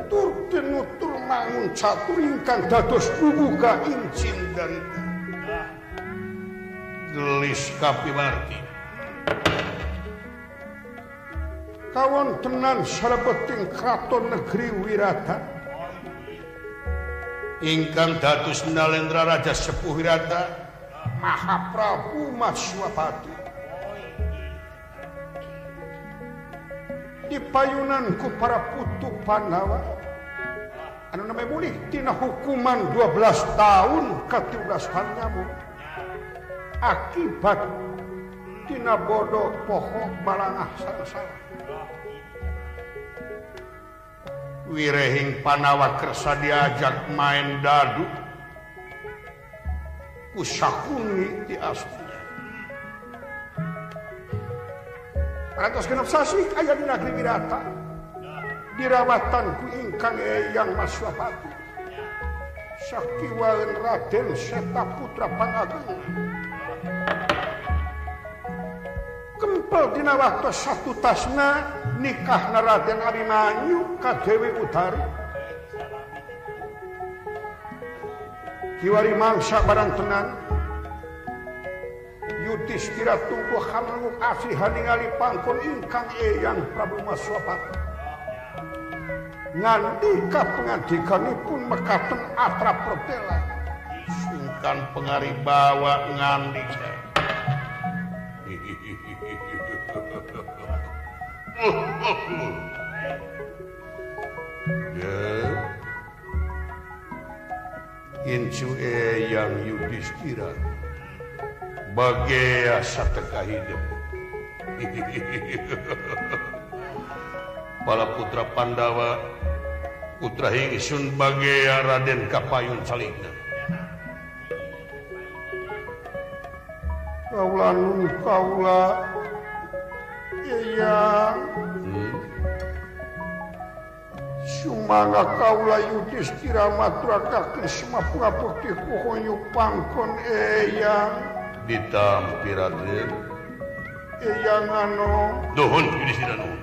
tur tinutur mangun catur ingkang dados bubuka incin dan gelis kapiwarti kawontenan salebeting kraton negeri Wirata ingkang dados Nalendra Raja Sepuh Wirata Mahaprabu Maswapati dipayunanku para putu Pandawa anu namanya boleh tina hukuman 12 tahun ke 13 nyamuk akibat tina bodoh pohon balangah salah wirehing Pandawa kersa diajak main dadu ku Sakuni di asli Rantos genep sasi aya di negeri Wirata dirawatan ku ingkang Eyang Maswapati sakiwaeun Raden Seta Putra Pangagung kempel dina waktu satu tasna nikahna Raden Abimanyu ka Dewi Utari kiwari mangsa barang tenan Yudhistira tunggu hamluk asih ningali pangkon ingkang Eyang Prabu Maswapati ngandika pengandikanipun mekaten atrap pertela singkan pengaribawa ngandika Incu Eyang Yudhistira bagaya sateka hidup para putra Pandawa putra Hingsun bagaya Raden Kapayun Salingna kaula nun kaula Eyang sumangga kaula Yudhistira maturakaken semapura putih kuhoyu pangkon Eyang ditampi Raden Eyang anu nuhun Yudhistira nuhun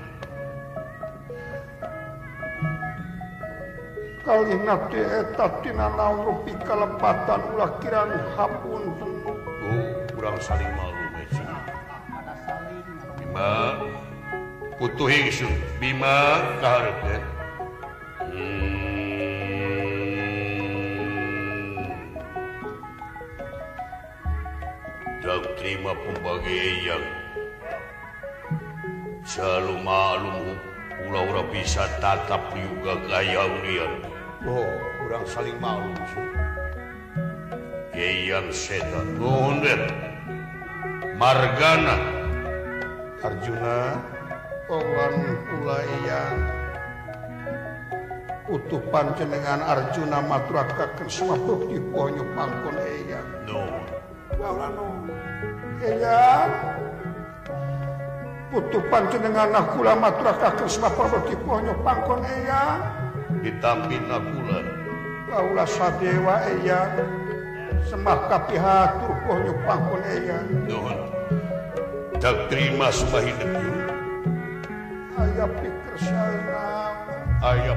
kalihna teh eta tina naon rupi kalepatan ulah kirang hapunten urang saling malu Bima putu Hingsun Bima kahareupeun Dak terima pembagaian Jalu malum ulah ora bisa tatap juga gaya unian kurang saling malum Eyang Seta nuhun Margana Arjuna kawan kula Eyang utuh panjenengan Arjuna maturakaken semapuk diponyo pangkon Eyang nuhun Eyang putu panjenengan kula maturakaken semapuk diponyo pangkon Eyang ditampi kula kaula sadewa Eyang semah kapihatur ponyo pangkon Eyang nuhun dak terima sembah hidup aya pikir saena aya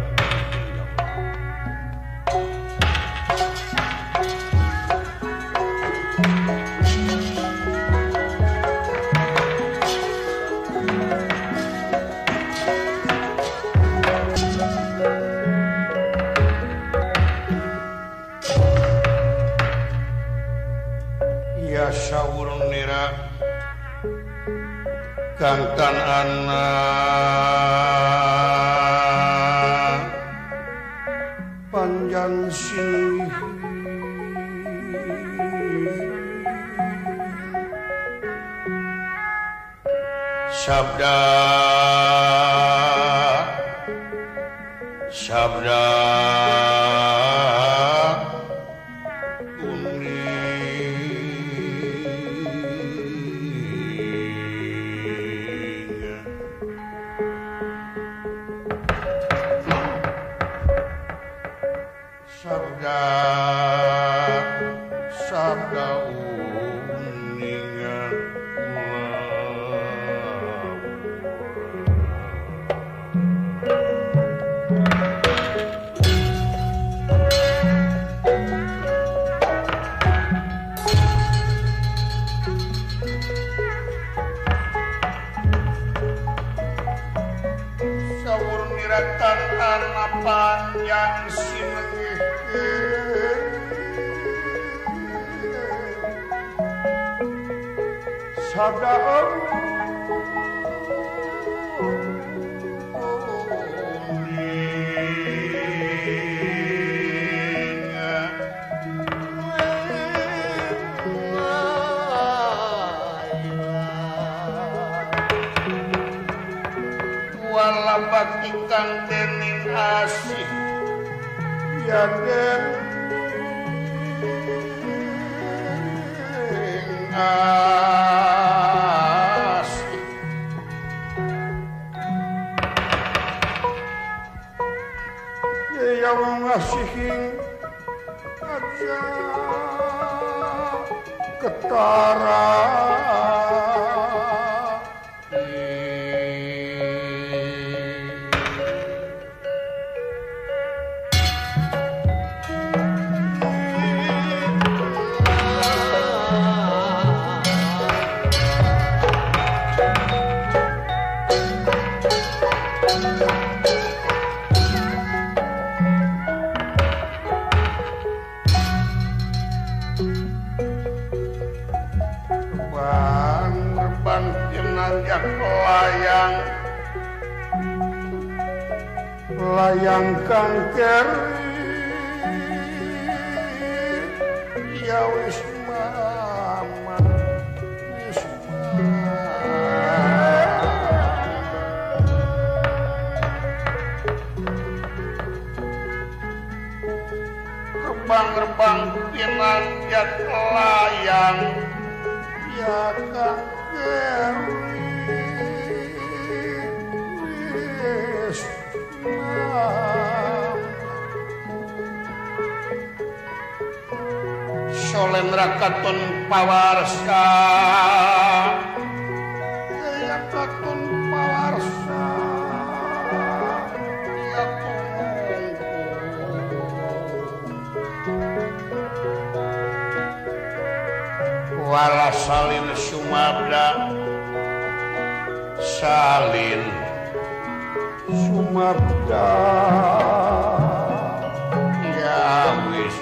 Saurnira Kangtan anak panjang sih sabda panjang sinengkeun sadaung bagi kang dening asih ya dening asih ya wong asihin aja ketara layang kang keri ya wis maman wis rebang-rebang pinanjat layang ya kang keri solen rakaton pawarsa ya katon pawarsa ya wala salin sumabda salin sumabda ya wis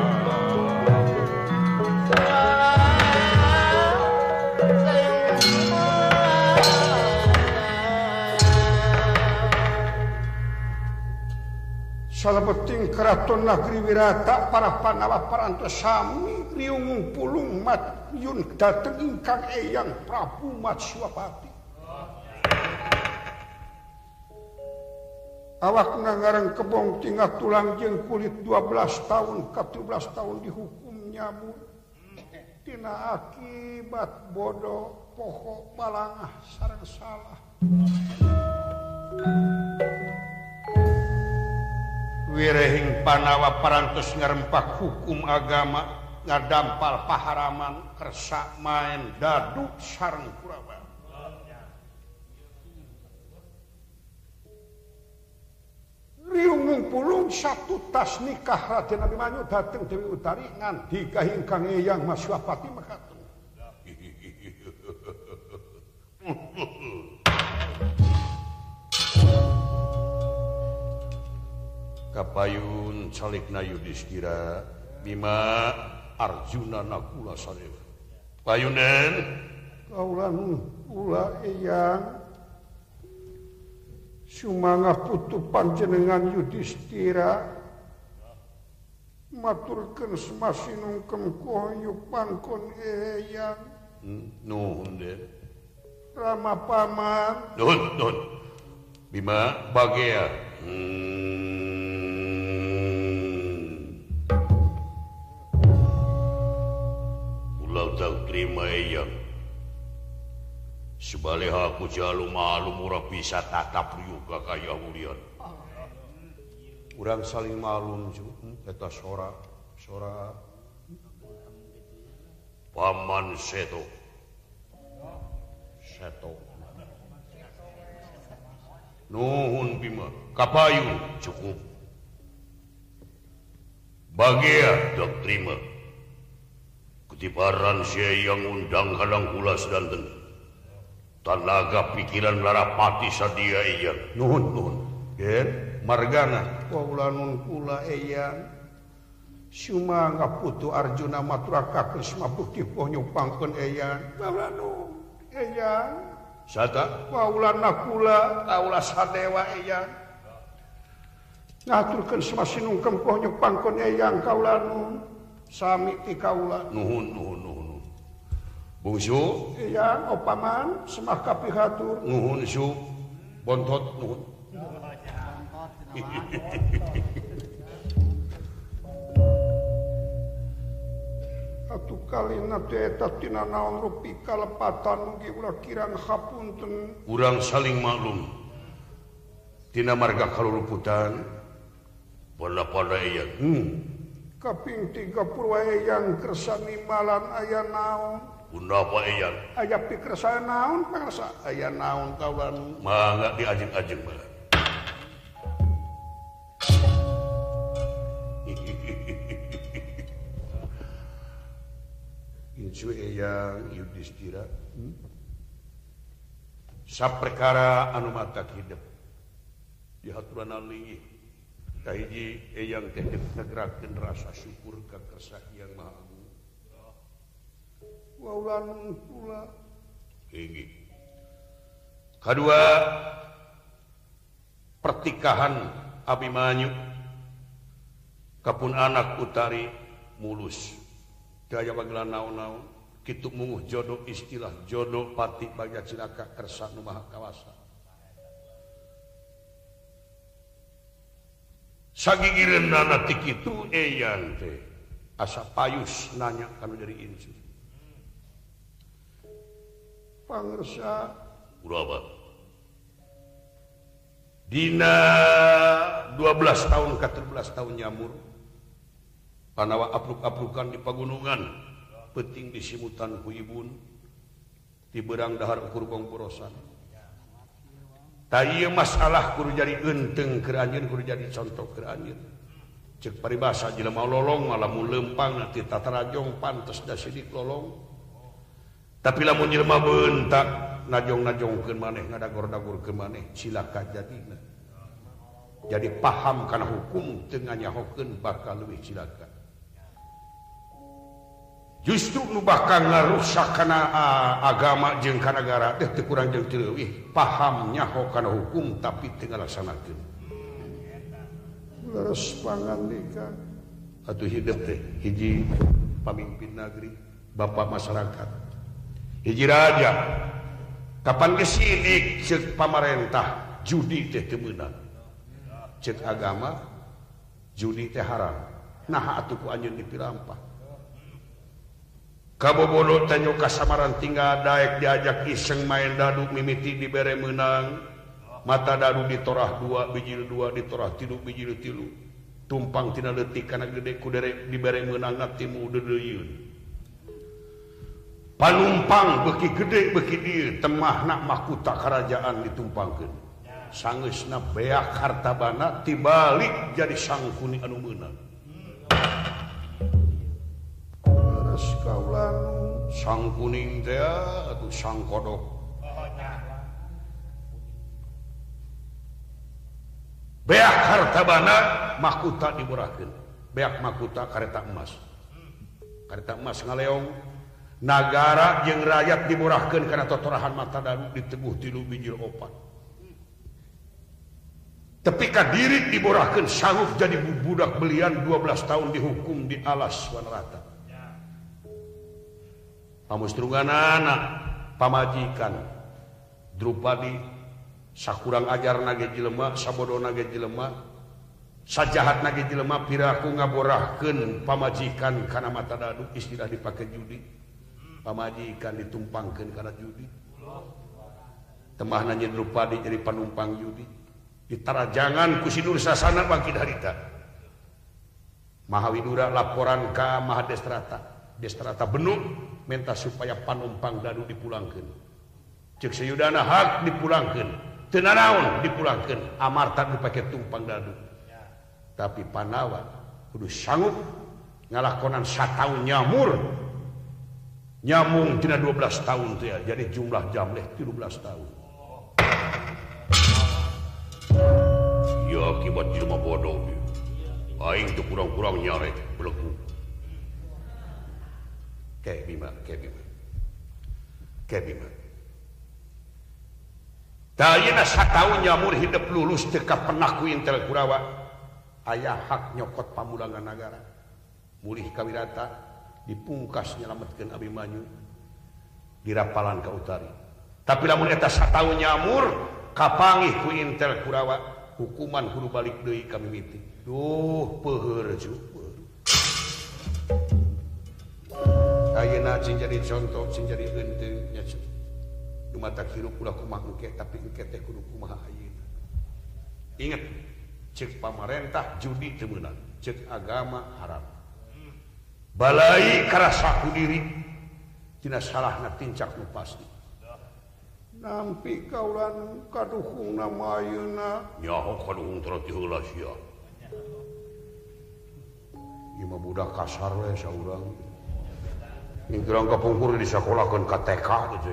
salebeting keraton negeri Wirata para Pandawa parantos sami riung pulung mat yun dateng ingkang eyang Prabu Matswapati awak ngareng kebong tinggal tulang jeung kulit 12 tahun ke 13 tahun dihukum nyamuk tina akibat bodoh poho balangah sareng salah wirehing Pandawa parantos ngarempak hukum agama ngadampal paharaman kersa main dadu sareng Kurawa riung pulung satu tas nikah Raden Abimanyu dateng Dewi Utari nganti ka ingkang eyang Matswapati mekaten kapayun calikna Yudhistira Bima Arjuna Nakula Sadewa payunen kaulan ula eyang sumangga putu panjenengan Yudhistira maturkeun semasinungkem koyo pangkon eyang nuhun den Rama paman nuhun Bima bagea ulah tak terima eyang sebaliha aku jalu malum ora bisa tatap riuga kaya mulian urang saling malum eta sora paman seto nuhun Bima kapayu cukup bagia dak terima kutiparan sia yang undang halang kula sedanten tanaga pikiran larapati sadia iya nuhun gen margana waulanun kula eyang Suma ngaputu Arjuna maturakeun semabukti poh nyupangkeun eyang waulanun eyang sata waulana kula kaula sadewa eyang ngaturkeun semasinungkeun poh nyupangkeun eyang kaulanun sami ti kaula nuhun bungsu eyang opaman semah kapihatur nuhun su bontot nuhun atuh kalina teh eta tina naon rupi kalepatan mugi ulah kirang hapunten urang saling maklum tina marga kaluluputan pada eyang kaping 30 eyang kersani malan aya naon Undapa eyang aya pikersana naon pangarsa aya naon kawan mangga diajeng-ajeng bae Insu eyang Yudhistira saperkara anu matak hidup dihaturan alih kahiji eyang teh ngegerakkeun rasa syukur ka kersa Hyang Maha Agung waulanun kula hiji kadua pertikahan Abimanyu kapun anak utari mulus daya bagelan naon-naon kitu munguh jodoh istilah jodoh pati bagja cilaka kersa nu maha kawasa sagigireunana ti kitu eyang teh asa payus nanya kana dari insu pangarsa uraba dina 12 tahun ke 13 tahun nyamur panawa apluk-aplukan di pagunungan peting di simutan ku ibun di berang dahar ukur gongporosan taieu masalah kudu jadi genteng keur anjeun kudu jadi contoh keur anjeun ceuk paribasa jelema lolong malah mun leumpang nanti tatarajong pantes da sidik lolong tapi lamun jelema beuntak najong-najongkeun maneh ngadagor-dagorkeun maneh cilaka jadina jadi paham kana hukum teu nganyahokeun bakal leuwih cilaka justru nu bakal ngarusak kana agama jeung kana nagara teh teu kurang jeung teu leuwih paham nyaho kana hukum tapi teu ngalaksanakeun leres pangandikan atuh hidup teh hiji pamimpin negeri bapak masyarakat hiji raja kapan gesidik ceuk pamarentah judi teh teu meunang ceuk agama judi teh haram nah atuh ku anjeun dipirampah kabobodo tanyo kasamaran tinggal daek diajak iseng main dadu mimiti dibere menang mata dadu ditorah 2 biji 2 ditorah 3 biji 3 tumpang tina leutik kana gede ku derek dibere menang ngatimu deudeuyeun panumpang beki gede beki dieu temahna mahkota kerajaan ditumpangkeun sangeusna beak hartabana tibalik jadi sangkuni anu meunang kaulanun sang kuning teh atuh sang kodok beak hartabana mahkota diborahkeun beak mahkota kareta emas ngaleong nagara jeung rakyat diborahkeun kana totorahan mata daru diteguh 3 biji 4 tapi ka diri diborahkeun sanggup jadi budak belian 12 tahun dihukum di alas wanarata pamustrunganana pamajikan Drupadi sakurang ajar nage jelema sabodo nage jelema sajahat nage jelema piraku ngaborahkeun pamajikan kana mata dadu istilah dipake judi pamajikan ditumpangkeun kana judi temahna nya Drupadi jadi panumpang judi ditarajangan ku Sidur Sasana bangkit harita Mahawidura laporan ka Mahadestrata benung minta supaya panumpang dadu dipulangkeun ceuk sayudana hak dipulangkeun teu nanaon dipulangkeun amarta dipake tumpang dadu tapi Panawa kudu sanggup ngalakonan sataun nyamur nyamung tina 12 tahun teh jadi jumlah jamleh 13 tahun ya akibat jelema bodoh aing teu kurang-kurang nyarek beleku kayak Bima tayina satahun nyamur hidup lulus teu pernah ku Intel Kurawa aya hak nyokot pamulangan nagara mulih kawirata dipungkas nyelametkeun Abimanyu di Rapalan ka Utari tapi lamun eta satahun nyamur kapangih ku Intel Kurawa hukuman kudu balik deui ka mimiti duh peuheur jupeur ayeuna cing jadi contoh cing jadi henteu nya mata hirup ulah kumaha engke tapi engke teh kudu kumaha ayeuna inget cek pamarentah judi teu meunang cek agama haram balai karasa ku diri tina salahna tincak nu pasti nampi kaulan kaduhungna ayeuna nyaho kaduhung terus heula sia ieu mah budak kasar we saurang ingkurang kapungkur disakolahkeun ka TK teh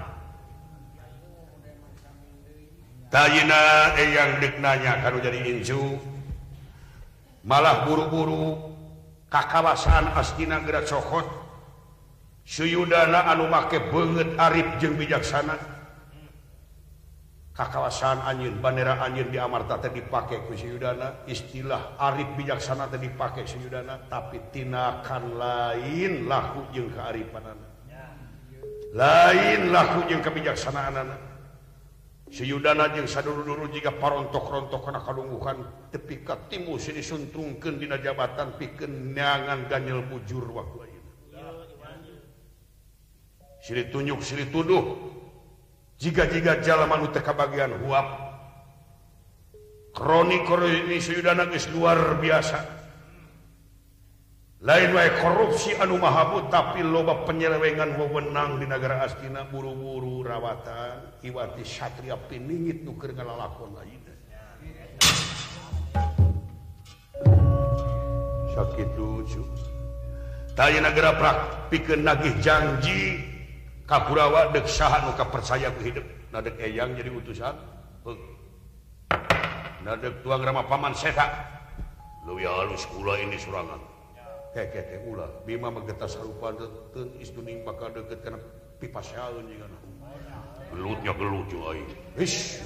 tayina eyang deuk nanya kanu jadi incu malah buru-buru kakawasan astina geura cokot suyudana anu make beungeut arif jeung bijaksana kakawasan anjeun bandera anjeun di Amarta teh dipake ku suyudana istilah arif bijaksana teh dipake suyudana tapi tinakan lain laku jeung kaarifanana lain laku jeung kebijaksanaanana Seyudana jeung saduru-duru jika parontok-rontok kana kalungguhan tepi ka timu sini suntrungkeun dina jabatan pikeun neangan ganyel bujur waktu ayeuna. Sili tunjuk sili tuduh jiga-jiga jalma nu teu kabagian huap. Kroni seyudana geus luar biasa. Lain wae korupsi anu mahabut tapi loba penyelewengan wewenang di negara Astina buru-buru rawatan iwati satria piningit nu keur ngalalakon ayeuna sakitu cu taya nagara prak pikeun nagih janji ka Kurawa deuk saha nu kapercaya ku hidup na deuk eyang jadi utusan na deuk tuang rama paman seta leuwih halus kula ini surangan keke ulah Bima mageta sarupa teu istuning bakal deukeut kana pipasaeun jigana gelutnya gelut jeung aing ish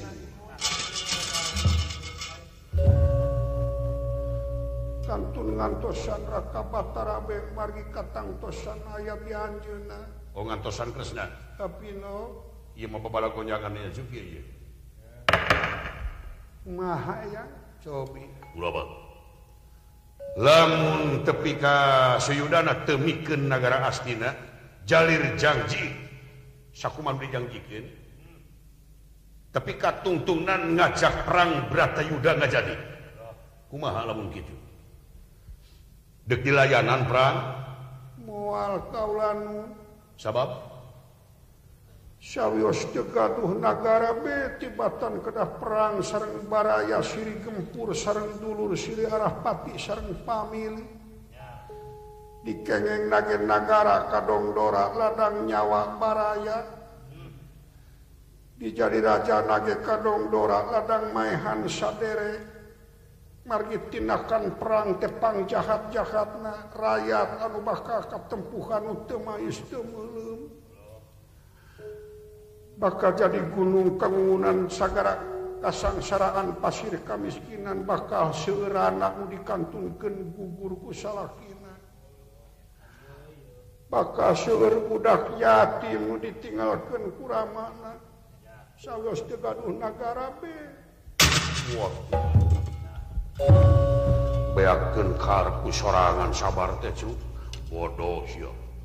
kantun ngantosan raka batarabe margi katangtosan aya di anjeunna oh ngantosan kresna tapi no ieu mah babala gonjangan nya juki ieu maha ya cobi ulah ba lamun tepi ka seyudana teu mikeun nagara Astina jalir janji sakumaha dijanjikeun tapi katungtungnan ngajak perang Bratayuda ngajadi kumaha lamun kitu deuk dilayanan perang moal kaulan sabab sawios gaduh nagara be tibatan kedah perang sareng baraya siri gempur sareng dulur siri arah pati sareng pamili dikengeng nage nagara kadongdora ladang nyawa baraya dijadi raja nage kadongdora ladang maehan sadere margi tindakan perang tepang jahat-jahatna rakyat anu bakal katempuhan nu teu maes teu meuleum bakal jadi gunung kangunan sagara kasangsaraan pasir kamiskinan bakal seurana nu dikantunkeun gugur ku salakina bakal seueur budak yatim nu ditinggalkeun ku ramana sawios teu gaduh nagara be beakeun karep ku sorangan sabar teh cu bodoh sia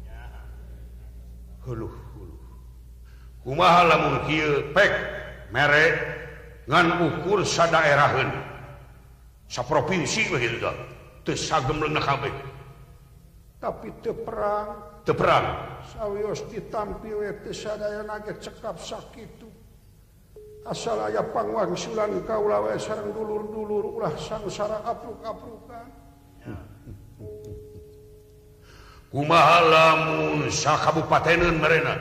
heuh kumaha lamun kieu pek mere ngan ukur sadaeraheun saprovinsi we kitu teu sagem leunah kabeh tapi teu perang sawios ditampi we teu sadayana ge cekap sakitu asal aya pangwangsulan kaula we sareng dulur-dulur ulah sangsara apruk-aprukan kumaha lamun sakabupateneun marena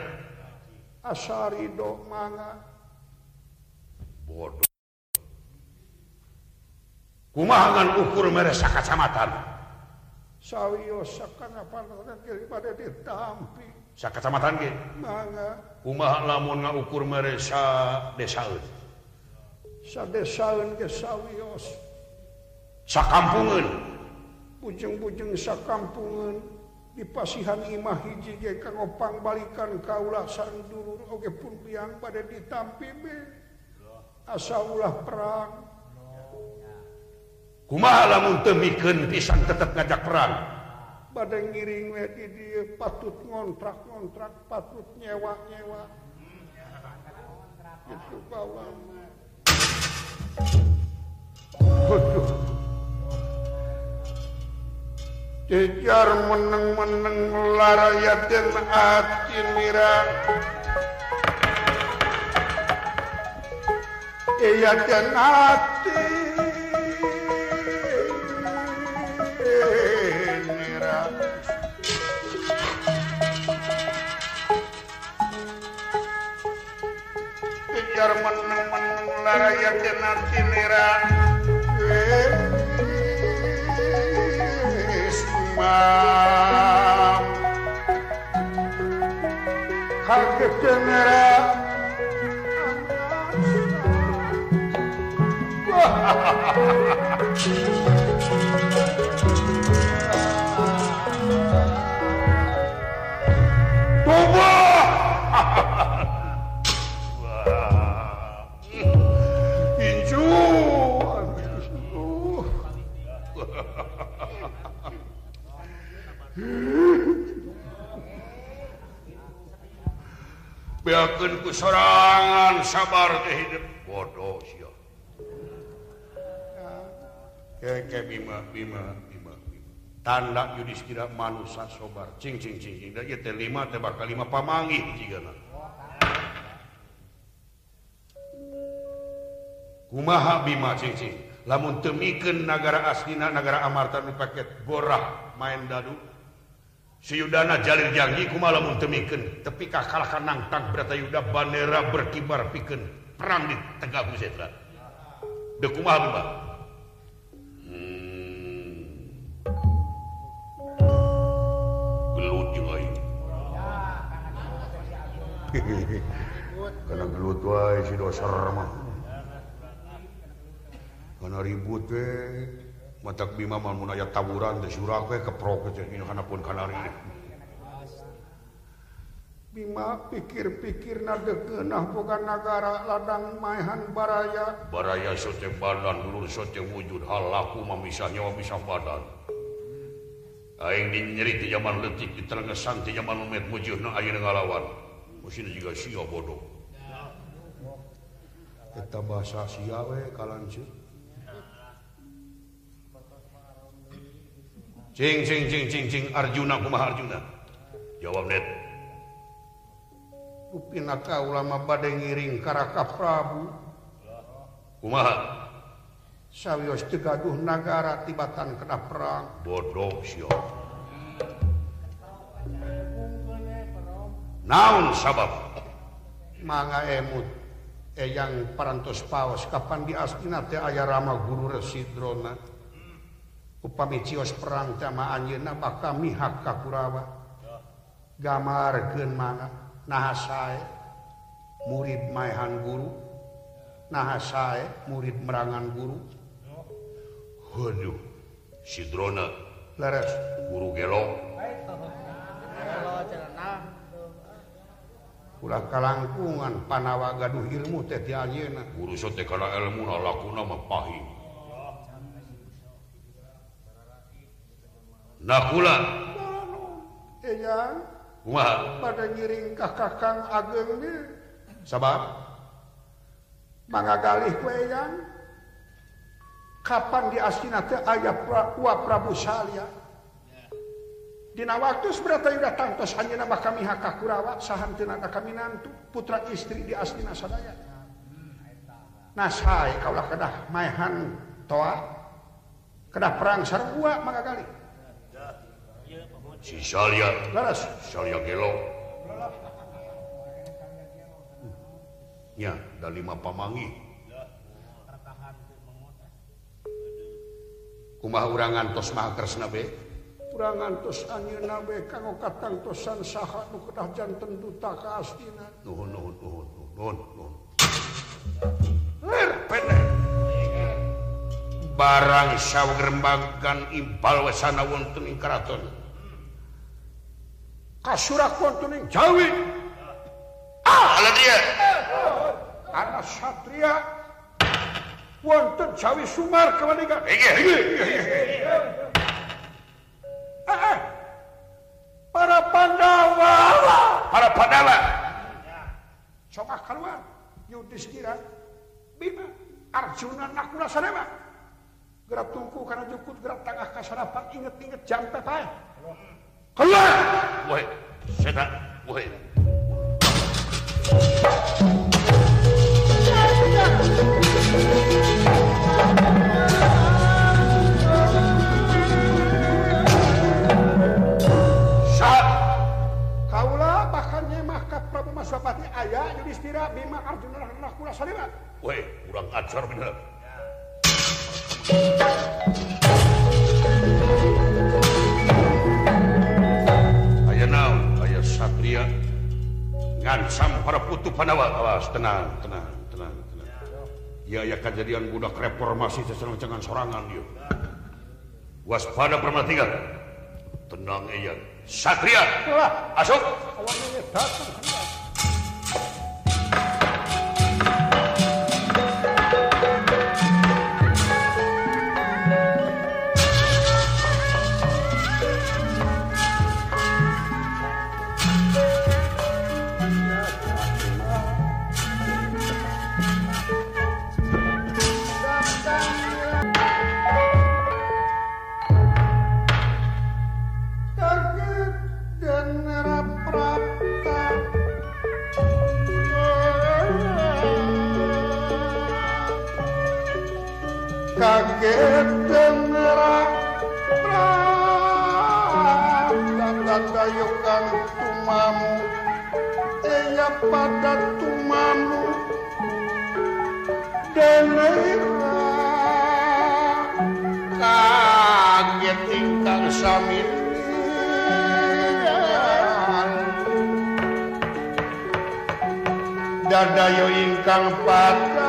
asarido manga bodoh kumaha ngan ukur mere sakacamatan sawios sakanapan daripada ditampi sakacamatan ge mangga kumaha lamun ngukur mere sadesaeun sadesaeun ge sawios sakampungeun bujeng-bujeng sakampungeun di pasihan imah hiji ge kanggo pangbalikan kaula sandurur oge pun biang pada ditampi be asa ulah perang kumaha lamun teu mikeun pisan tetep ngajak perang pada ngiring we di dieu patut ngontrak patut nyewa itu kaula aduh jejar meneng larayatin hati mira iyatin hati mira jejar meneng larayatin hati mira kaget cenera tubuh inju beakeun ku sorangan sabar teh hidup bodoh sia ke bima tanda Yudhistira manusa sobar cing da ieu teh 5 teh bakal 5 pamanggih jigana kumaha Bima cing lamun teu mikeun nagara aslina nagara Amarta nu paket gorah main dadu Siyudana jalir janji kumaha lamun teu mikeun tepi ka kalahkan nangtang Bratayuda bandera berkibar pikeun perang di Tegah Kusetra deuk kumaha Bima gelut jeung aing kana gelut wae si doser mah kana ribut we matak Bima mah mun aya taburan teh surag we keprok teh dina hanapun kanari Bima pikir-pikirna dekeunah boga nagara ladang maehan baraya sote badan dulur sote wujud halaku mah misah nyawa misah badan aing dinyeri ti zaman leutik diterengesan ti zaman umet mujudna ayeuna ngalawan musina juga sia bodoh eta bahasa sia we kalanceuk cing Arjuna kumaha Arjuna jawab net upina kaula mah bade ngiring ka Raka Prabu kumaha sawios teu gaduh nagara tibatan kena perang bodoh sia naon sabab mangga emut eyang parantos paos kapan di Astina teh aya Rama Guru Residrona upami cios perang teh mah anjeunna bakal mihak ka Kurawa gamarkeun mangga naha sae murid maehan guru naha sae murid merangan guru waduh Sidrona leres guru gelo ulah kalangkungan panawa gaduh ilmu teh ti ayeuna guru sote kana elmuna lakuna mah pahing nakula eyang kumaha pada ngiring ka Kakang Ageng ge sabab mangga galih ku eyang kapan di Astina teh aya Prabu Salya dina waktu Bratayuda tangtos anjeunna bakal mihak ka Kurawa sahanteuna ka minantu putra istri di Astina sadaya nah sae kaula kedah maehan toa kedah perang sarua mangga galih si Salya laras Salya gelo nya da 5 pamanggih kumaha urang ngantos mah kresna be urang ngantos anjeunna be kanggo katangtosan saha nu kedah janten duta ka astina nuhun pendek barang sawerembagan impal wesana wonten ing karaton kasurak wonten ing Jawi dia anak satria wonten Jawi Sumar kemanikan para Pandawa sok keluar Yudhistira Bima Arjuna Nakula Sadewa gerak tungku karena jukut gerak tengah kasarapan inget-inget jam pepae keluar woi setan woi kaulah bahkan nyemah ka Prabu Maswapati aya Yudhistira Bima Arjuna Nakula Sadewa woi kurang ajar bener aya naon aya satria ngancam para putu Pandawa awas tenang ya kejadian budak reformasi sesenang-cengan sorangan dia waspada permatikan tenang iya satria asuk awalnya datang kaget dengerak dayukan tumamu eya pada tumamu denera kaget ingkang sami dadayo ingkang pada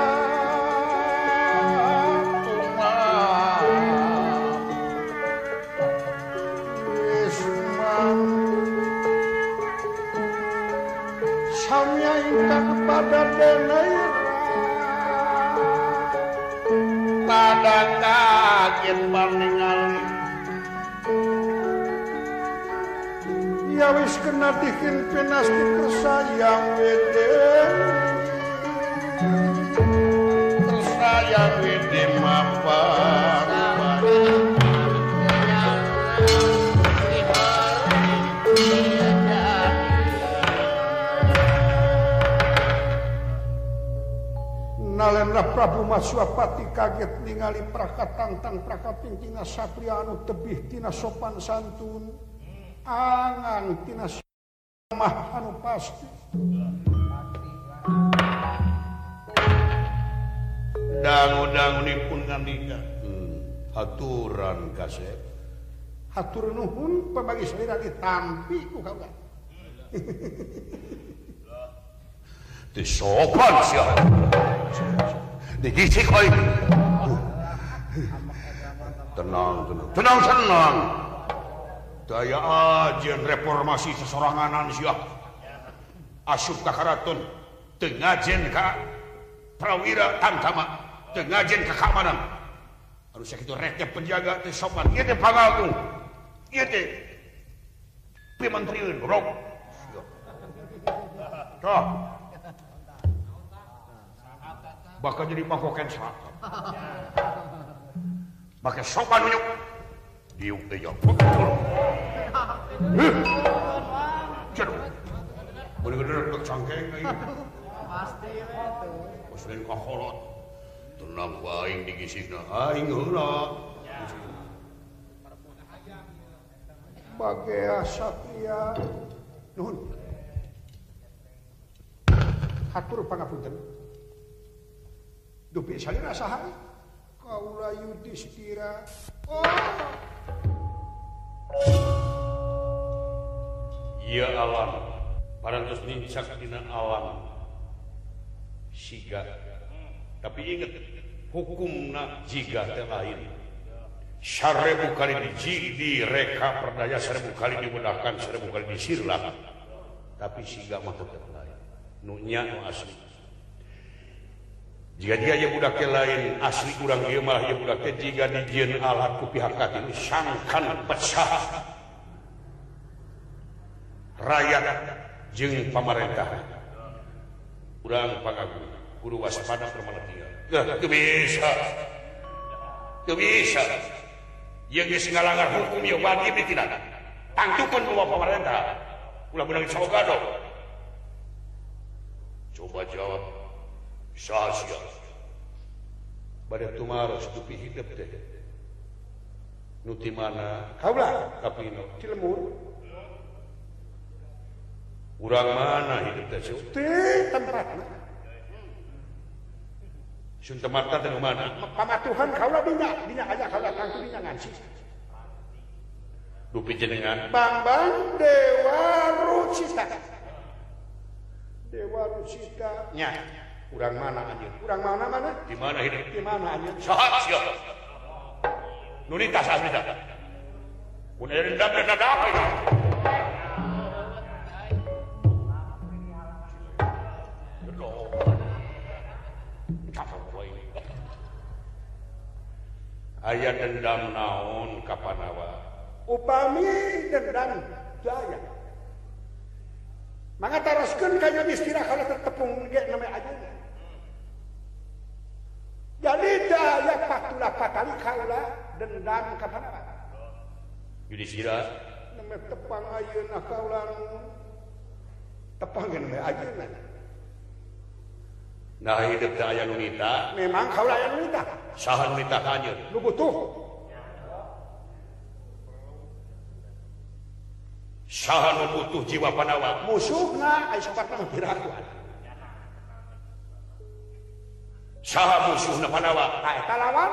samya ingkang kepada denera pada kaget paningali ya wis kena dikin pinasti kersayang wede kersayang wede mapan nalenna Prabu Maswapati kaget ningali prakatangtang prakatingtina satria anu tebih tina sopan santun angan tina mah anu pasti dangu-dangunipun ngandika haturan kasep hatur nuhun pemagi salira ditampi ku kaula disopan siapa digisik oi tenang daya ajen reformasi sesoranganan siapa asup ka karaton teu ngajen ka prawira tamtama teu ngajen ka keamanan harus sakitu rek penjaga teh sopan ieu teh pangagung ieu teh pimantrieun rok toh bakal jadi mangkoken selatan pakai sopan unyuk diuk aja ceru boleh gede cangkeng aja pasti itu muslim kaholot tenang waing digisina aing heula bagea satria nuhun hatur pangapunten dupi salira saha kaula Yudhistira Iya alam parantos nincak dina alam siga tapi ingat hukumna jiga teh lain 1000 kali direka perdaya 1000 kali dimudahkan 1000 kali disirlah tapi siga mah tetep lain nu nya nu asli jika dia ya budak lain asli kurang ieu mah ya budak teh jiga dijieun alat ku pihak katilu sangkan pecah rakyat jeung pamarentah urang pangagung kudu waspada permana tinggal teu bisa yang geus ngalanggar hukum ya wajib ditindak tangtukeun ku pamarentah ulah beunang sawagado coba jawab sia-sia bade tumaros tu pi hidup teh nu ti mana kaula kapino ti lemur urang mana hidup teh teh tempatna sun tempatna teh mana pamatuhan kaula dinya aja kaula tangtu dinya ngansi dupi jenengan Bambang Dewa Rucita nya urang mana anjeun urang mana di mana hidup di mana anjeun saha sia nu lintas asli tah mun aya dendam apa itu aya dendam naon kapanawa upami dendam daya mangga taroskeun ka nya istirahat kalau tertepung ge namanya aja jadi daya patulah patali kaula dendam kapanawa Yudhistira namanya tepang ayeuna kaula tepang ge namanya ajeuna nah hidup teh aya nu nita memang kaula aya nu nita saha nu nita ka anjeun nu butuh saha nu butuh jiwa panawa musuhna aya sempatna pirakuan saha musuhna panawa eta lawan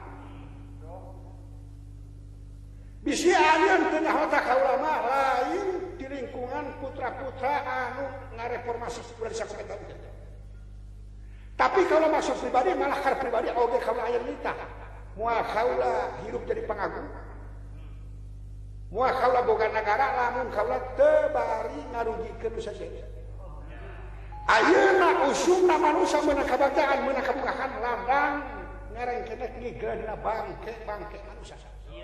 bisi alieun teu nyaho kaula mah lain di lingkungan putra-putra anu ngareformasi ulah disakomentan tapi kalau masuk pribadi malah kar pribadi oge kaula aya nita moal kaula hirup jadi pangagung moal kaula boga nagara lamun kaula teu bari ngarugikeun saja ayeuna usumna manusia meunang kabanggaan meunang kabugahan ladang ngarengkenek ngigel dina bangke manusia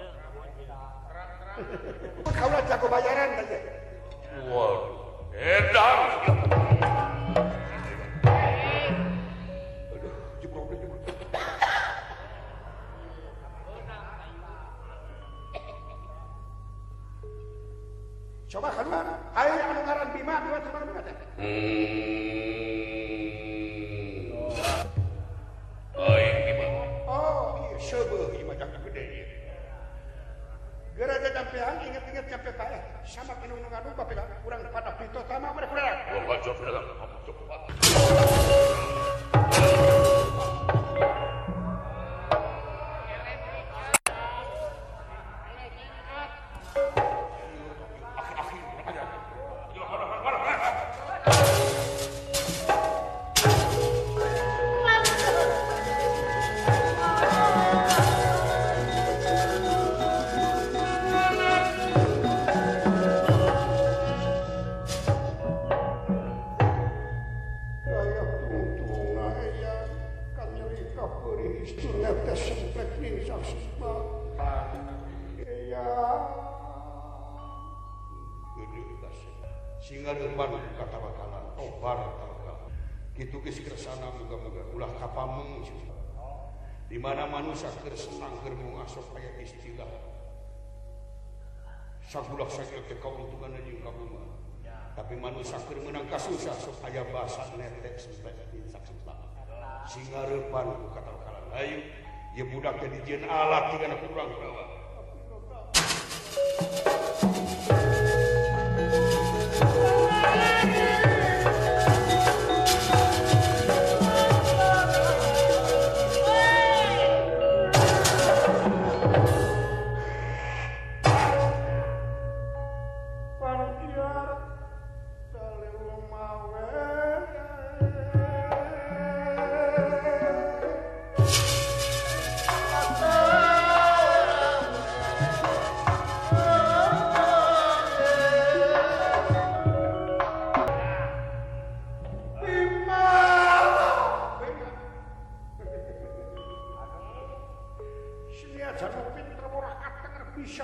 kaula jago bayaran teh waduh edan coba keluar ayo anu ngaran Bima dua teman Bima teh Bima oh iya seubeuh ieu mah jangan gede ieu gara aja campean inget-inget campe paeh sama anu ngadu bapela urang pada pito tama mare kurang oh bajot dalam coba singa depan kata bakalan tobar kitu geus kersana muga-muga ulah kapameng di mana manusia keur senang keur ngasup aya istilah sagulah sakit teh kauntungan jeung kabungan tapi manusia keur meunang kasusah sok aya basa netek sampai insak sempat singa depan kata bakalan ayo ye budak teh dijieun alat tinggalna kurang bawa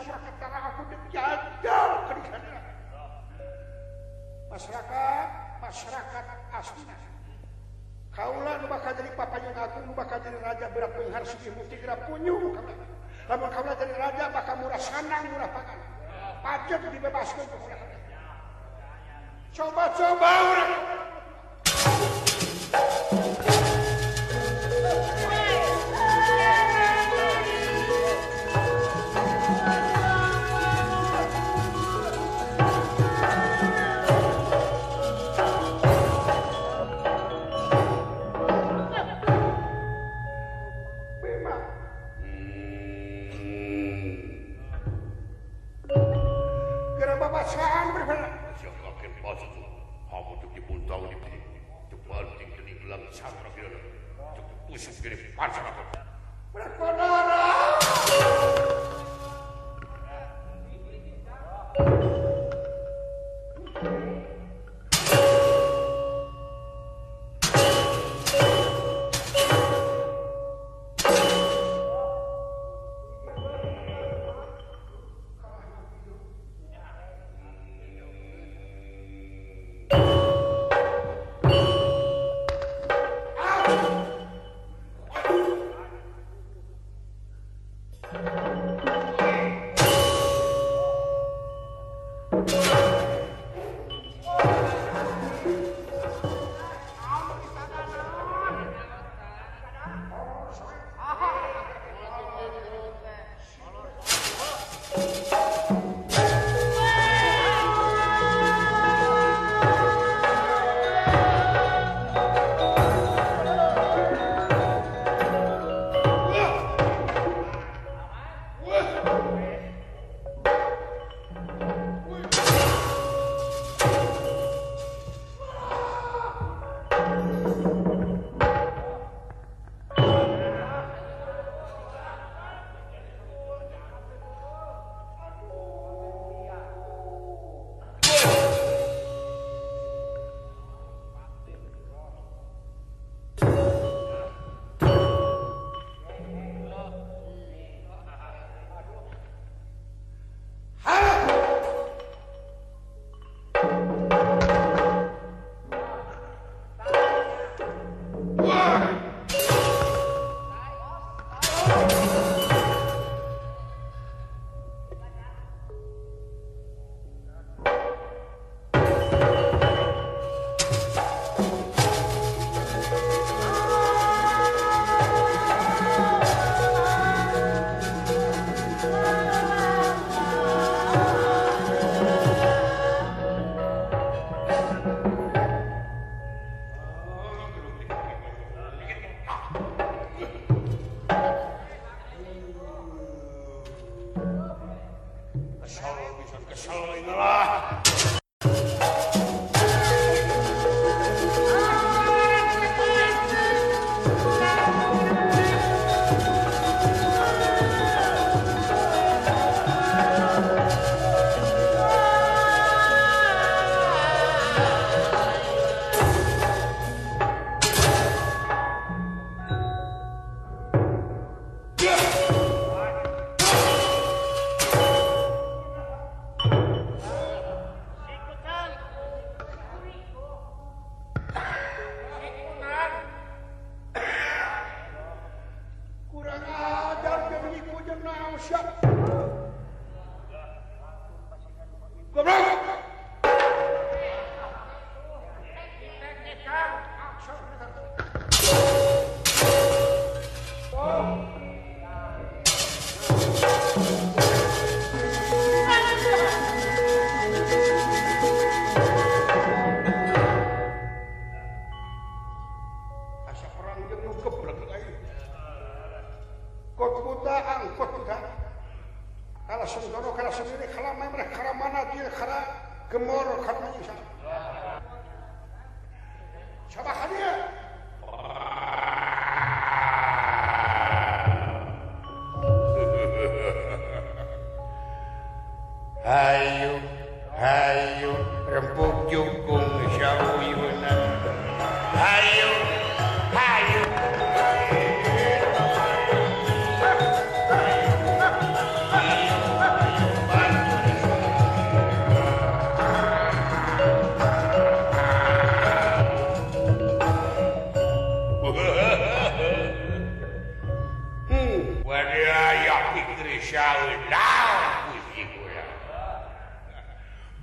masyarakat aku dijajal masyarakat asli kaulah nu bakal jadi papanya aku nu bakal jadi raja berat penghar sugih mukti gerak punyung lamun kaulah jadi raja bakal murah sanang murah pangan pajak dibebaskan coba-coba orang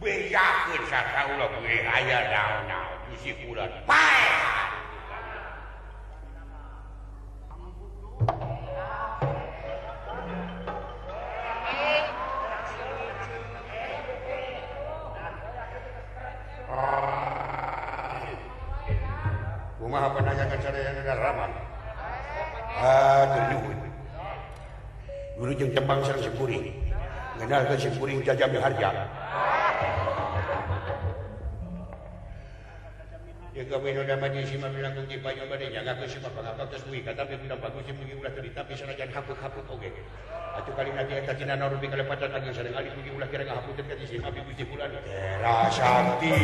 bejakeun sasaula we aya naon-naon bisi kulan pae kumaha pananyakan sadaya negara ramah nyuhun dulu jeung tembang sareng simkuring ngenalkeun simkuring jajami harja ya kami noda maju si mami langkung di banyu bade nyanggakeun si pangapal tos duwi katapi pina bagus si mugi ulah teu tapi sanajan haput-haput oge atuh kali nanti eta tina narubi kalepatan lagi sareng ali mugi ulah kira ngahaputeun ka si mami Gusti Bulan era sakti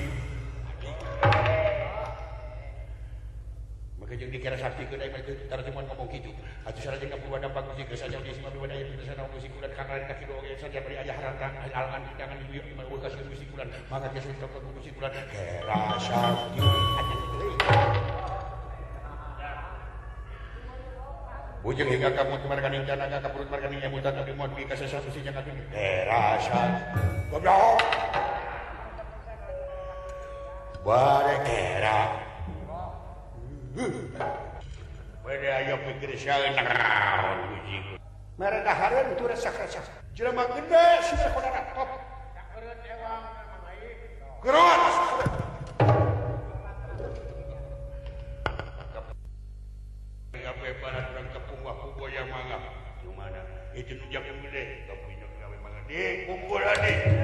maka jeung dikira sakti keun ai mah tara cuma ngomong kitu atuh sarajan ka purwana bagus si kesajan si mami wadaya teu sana Gusti Bulan kangaren kaki doge saja bari aya haratan alangan jangan dibieu di mana ulah Gusti Bulan maka dia sok ka Gusti Bulan era sakti Bujeng hingga kamu marganing jana ka perut marganing nyamutan tapi mau dugi ka sesatu si jangan dugi era sakti goblok bare era Wede ayo pikir saeun naon uji. Mereka hareun tu resak-resak. Jelema gede sudah kodana top. Sakeureuh ewang memang ai. Geron. Gawe barat urang tepung wah kuboya mangga. Di mana? Itu nu jago gede, tapi nu gawe mangga. Di kumpul ade.